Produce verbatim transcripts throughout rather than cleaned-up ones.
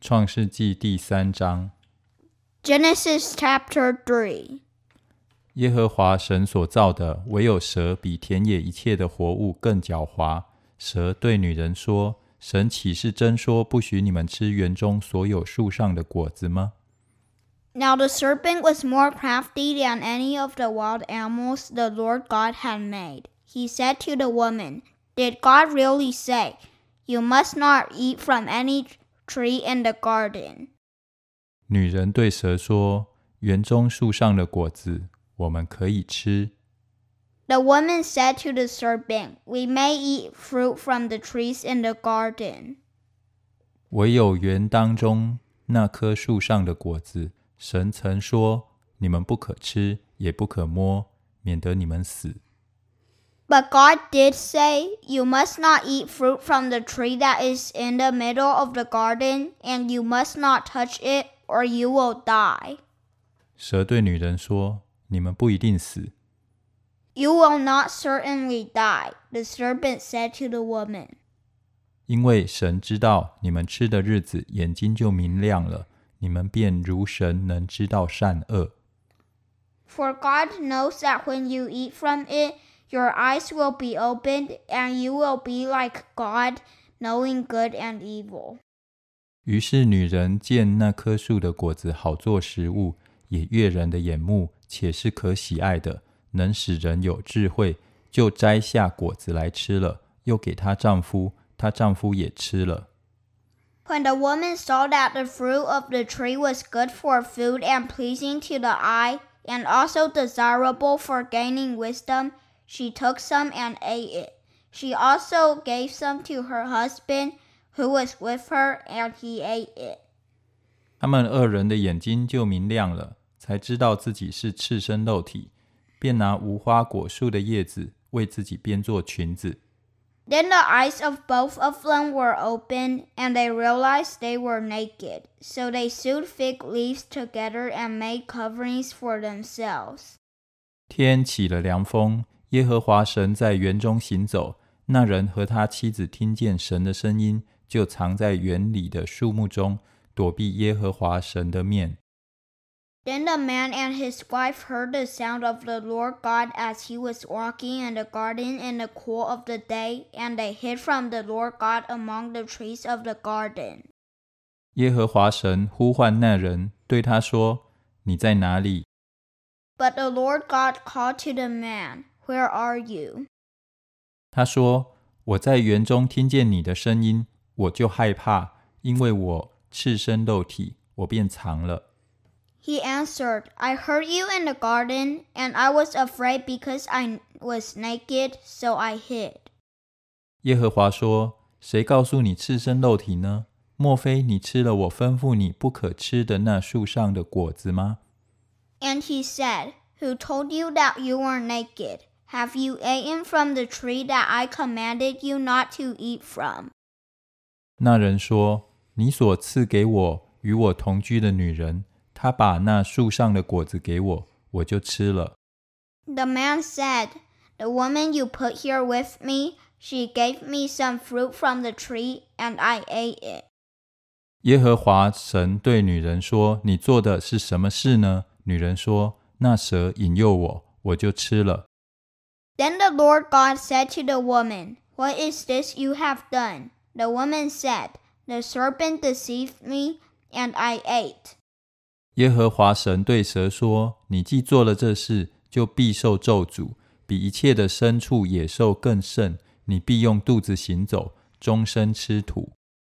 创世纪第三章 Genesis chapter three. 耶和华神所造的，唯有蛇比田野一切的活物更狡猾。蛇对女人说：神岂是真说不许你们吃园中所有树上的果子吗？ Now the serpent was more crafty than any of the wild animals the Lord God had made. He said to the woman, Did God really say, You must not eat from any tree in the garden? 女人对蛇说：园中树上的果子我们可以吃。 The woman said to the serpent, We may eat fruit from the trees in the garden. 唯有园当中那棵树上的果子，神曾说：你们不可吃，也不可摸，免得你们死。 But God did say, You must not eat fruit from the tree that is in the middle of the garden, and you must not touch it, or you will die. 蛇对女人说：你们不一定死。 You will not certainly die, the serpent said to the woman. 因为神知道你们吃的日子眼睛就明亮了，你们便如神能知道善恶。 For God knows that when you eat from it, your eyes will be opened, and you will be like God, knowing good and evil. 于是女人见那棵树的果子好做食物，也悦人的眼目，且是可喜爱的，能使人有智慧，就摘下果子来吃了，又给她丈夫，她丈夫也吃了。 When the woman saw that the fruit of the tree was good for food and pleasing to the eye, and also desirable for gaining wisdom, she took some and ate it. She also gave some to her husband, who was with her, and he ate it. 他们二人的眼睛就明亮了，才知道自己是赤身露体，便拿无花果树的叶子为自己编做裙子。 Then the eyes of both of them were opened, and they realized they were naked. So they sewed fig leaves together and made coverings for themselves. 天起了凉风，耶和华神在园中行走，那人和他妻子听见神的声音，就藏在园里的树木中，躲避耶和华神的面。 Then the man and his wife heard the sound of the Lord God as he was walking in the garden in the cool of the day, and they hid from the Lord God among the trees of the garden. 耶和华神呼唤那人，对他说：你在哪里？ But the Lord God called to the man, Where are you? 他说：我在园中听见你的声音，我就害怕，因为我赤身露体，我便藏了。 He answered, I heard you in the garden, and I was afraid because I was naked, so I hid. 耶和华说：谁告诉你赤身露体呢？莫非你吃了我吩咐你不可吃的那树上的果子吗？ And he said, Who told you that you were naked? Have you eaten from the tree that I commanded you not to eat from? 那人说：你所赐给我与我同居的女人，她把那树上的果子给我，我就吃了。 The man said, The woman you put here with me, she gave me some fruit from the tree, and I ate it. 耶和华神对女人说：你做的是什么事呢？女人说：那蛇引诱我，我就吃了。 Then the Lord God said to the woman, What is this you have done? The woman said, The serpent deceived me, and I ate. 耶和华神对蛇说：你既做了这事，就必受咒诅，比一切的牲畜野兽更甚，你必用肚子行走，终身吃土。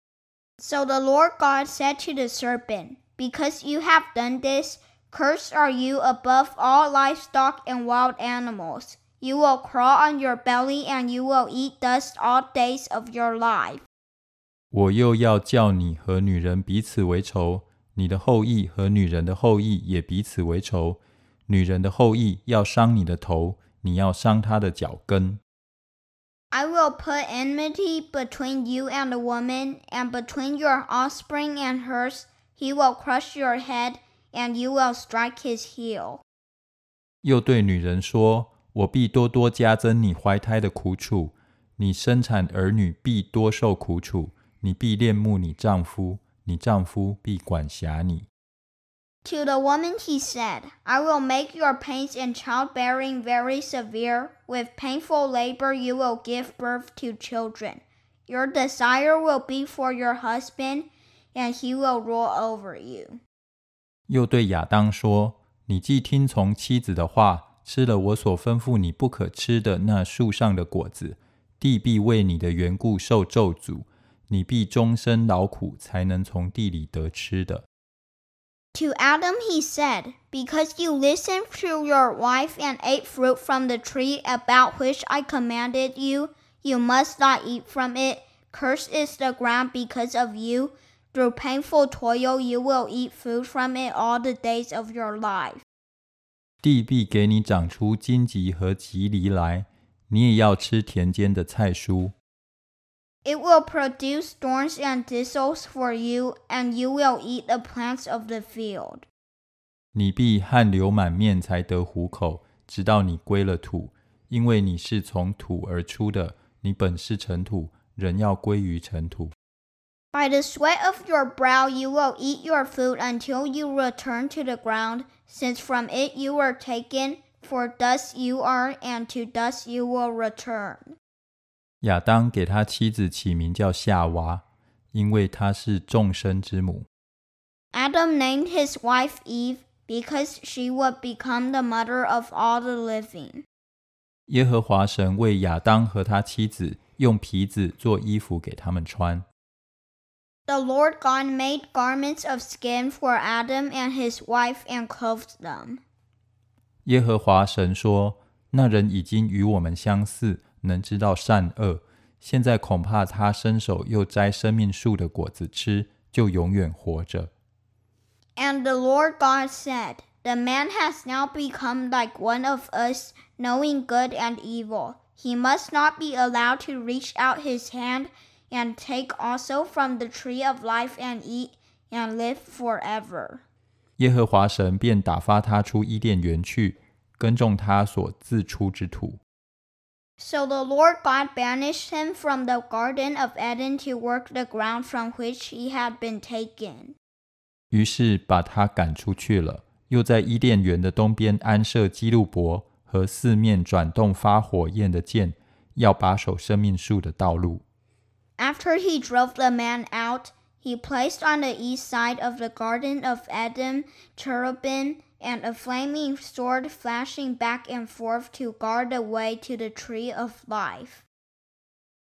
So the Lord God said to the serpent, Because you have done this, cursed are you above all livestock and wild animals. You will crawl on your belly, and you will eat dust all days of your life. 我又要叫你和女人彼此为仇，你的后裔和女人的后裔也彼此为仇。女人的后裔要伤你的头，你要伤她的脚跟。 I will put enmity between you and the woman, and between your offspring and hers. He will crush your head, and you will strike his heel. 又对女人说：我必多多加增你怀胎的苦楚，你生产儿女必多受苦楚，你必恋慕你丈夫， 你丈夫必管辖你。 To the woman he said, I will make your pains in childbearing very severe. With painful labor you will give birth to children. Your desire will be for your husband, and he will rule over you. 又对亚当说，你既听从妻子的话，吃了我所吩咐你不可吃的那树上的果子，地必为你的缘故受咒诅，你必终身劳苦，才能从地里得吃的。 To Adam he said, Because you listened to your wife and ate fruit from the tree about which I commanded you, you must not eat from it. Cursed is the ground because of you. Through painful toil you will eat food from it all the days of your life. 地必给你长出荆棘和棘藜来，你也要吃田间的菜蔬。 It will produce thorns and thistles for you, and you will eat the plants of the field. 你必汗流满面才得糊口，直到你归了土，因为你是从土而出的，你本是尘土，人要归于尘土。 By the sweat of your brow you will eat your food until you return to the ground, since from it you were taken, for dust you are, and to dust you will return. 亚当给他妻子起名叫夏娃，因为她是众生之母。 Adam named his wife Eve, because she would become the mother of all the living. 耶和华神为亚当和他妻子用皮子做衣服给他们穿。 The Lord God made garments of skin for Adam and his wife and clothed them. 耶和华神说，那人已经与我们相似，能知道善恶，现在恐怕他伸手又摘生命树的果子吃，就永远活着。 And the Lord God said, The man has now become like one of us, knowing good and evil. He must not be allowed to reach out his hand and take also from the tree of life and eat and live forever. 耶和华神便打发他出伊甸园去，耕种他所自出之土。 So the Lord God banished him from the Garden of Eden to work the ground from which he had been taken. 于是把他赶出去了，又在伊甸园的东边安设基路伯和四面转动发火焰的剑，要把守生命树的道路。 After he drove the man out, he placed on the east side of the Garden of Eden cherubim and a flaming sword flashing back and forth to guard the way to the tree of life.